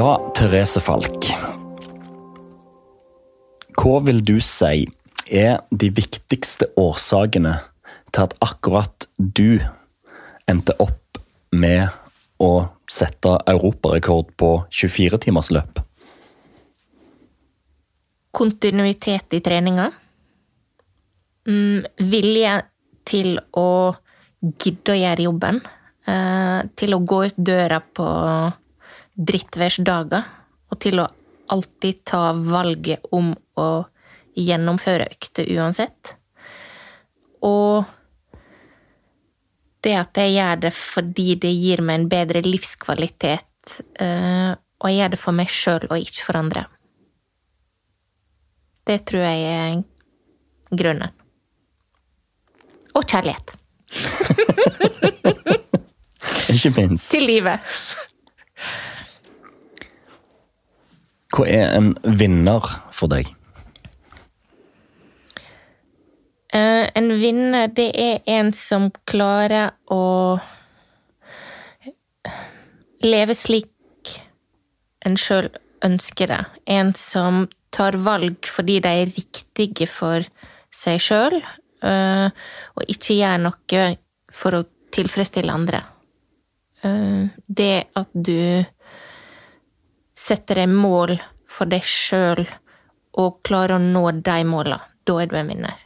Ja, Therese Falk. Hva vil du si de viktigste årsakene til at akkurat du endte opp med å sette europarekord på 24 timers løp? Kontinuitet i treninga. Vilje til å gidde å gjøre jobben. Til å gå ut døra på drittværsdager. Og til å alltid ta valget om å gjennomføre økter uansett. Og det at jeg gjør det fordi det gir meg en bedre livskvalitet, og jeg gjør det for meg selv og ikke for andre. Det tror jeg er grunnen. Og kjærlighet. Ikke minst. Til livet. Hva er en vinner for deg? En vinner, det er en som klarer å leve slik en selv ønsker det. En som tar valg fordi de er riktige for seg selv, og ikke gjør noe for å tilfredsstille andre. Det at du setter deg mål for deg selv og klarer å nå de målene, da er du en vinner.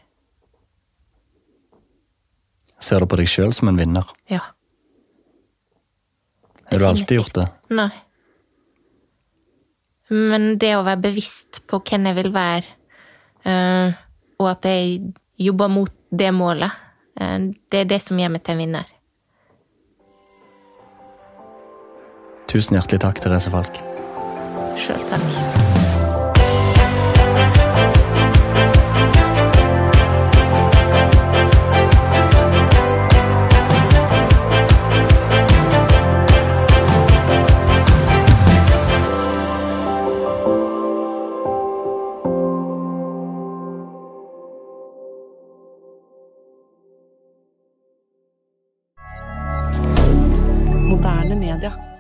Ser du på deg selv som en vinner? Ja. Har du alltid gjort det? Nei. Men det å være bevisst på hvem jeg vil være, og at jeg jobber mot det målet, det er det som gjør meg til en vinner. Tusen hjertelig takk, Therese Falk. Selv takk. Moderne media.